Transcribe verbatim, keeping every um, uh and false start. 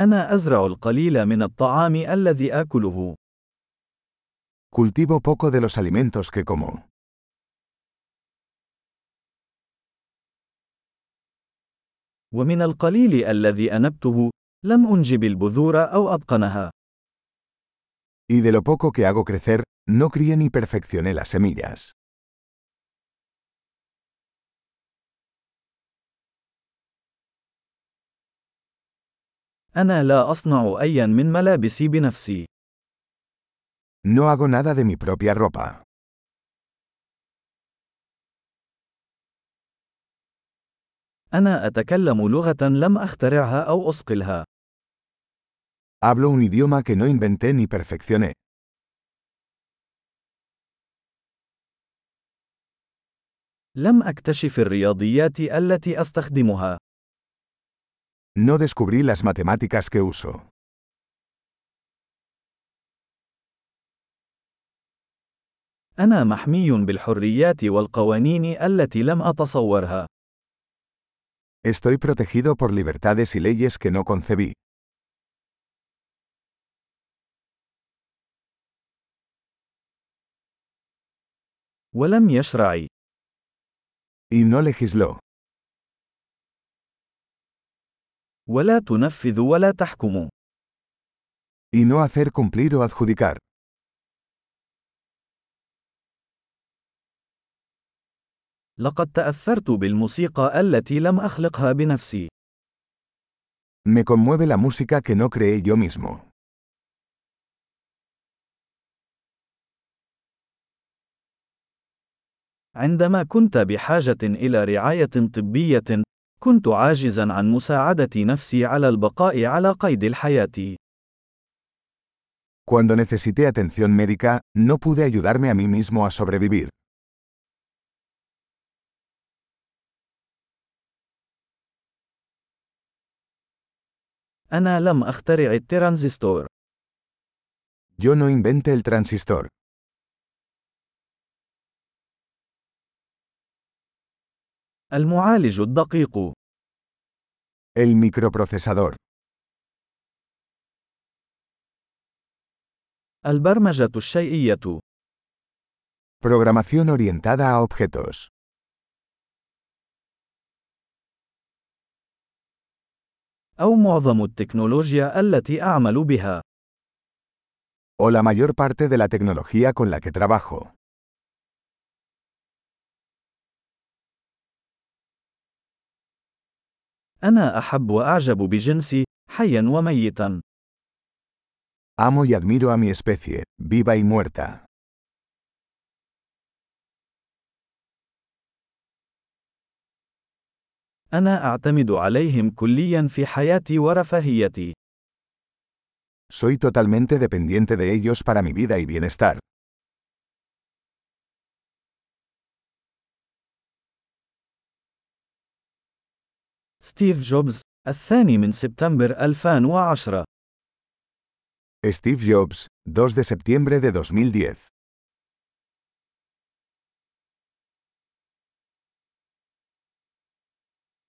أنا أزرع القليل من الطعام الذي آكله. Cultivo poco de los alimentos que como. ومن القليل الذي أنبته، لم أنجب البذور أو أتقنها. Y de lo poco que hago crecer, no crié ni perfeccioné las semillas. أنا لا أصنع أيا من ملابسي بنفسي. No hago nada de mi propia ropa. أنا أتكلم لغة لم أخترعها أو أصقلها. Hablo un idioma que no inventé ni perfeccioné. لم أكتشف الرياضيات التي أستخدمها. No descubrí las matemáticas que uso. أنا محمي بالحريات والقوانين التي لم أتصورها. Estoy protegido por libertades y leyes que no concebí. ولم يشرع. Y no legisló. ولا تنفذ ولا تحكم. Y no hacer cumplir o adjudicar. لقد تأثرت بالموسيقى التي لم أخلقها بنفسي. Me conmueve la música que no creé yo mismo. عندما كنت بحاجة إلى رعاية طبية، كنت عاجزا عن مساعدة نفسي على البقاء على قيد الحياة. Cuando necesité atención médica, no pude ayudarme a mí mismo a sobrevivir. أنا لم أخترع الترانزستور. Yo no inventé el transistor. المعالج الدقيق. El microprocesador. البرمجة الشيئية. Programación orientada a objetos. أو معظم التكنولوجيا التي أعمل بها. O la mayor parte de la tecnología con la que trabajo. أنا أحب وأعجب بجنسي، حيا وميتا. Amo y admiro a mi especie, viva y muerta. أنا أعتمد عليهم كليا في حياتي ورفاهيتي. Soy totalmente dependiente de ellos para mi vida y bienestar. ستيف جوبز، الثاني من سبتمبر ألفين وعشرة. Steve Jobs, dos de septiembre de dos mil diez.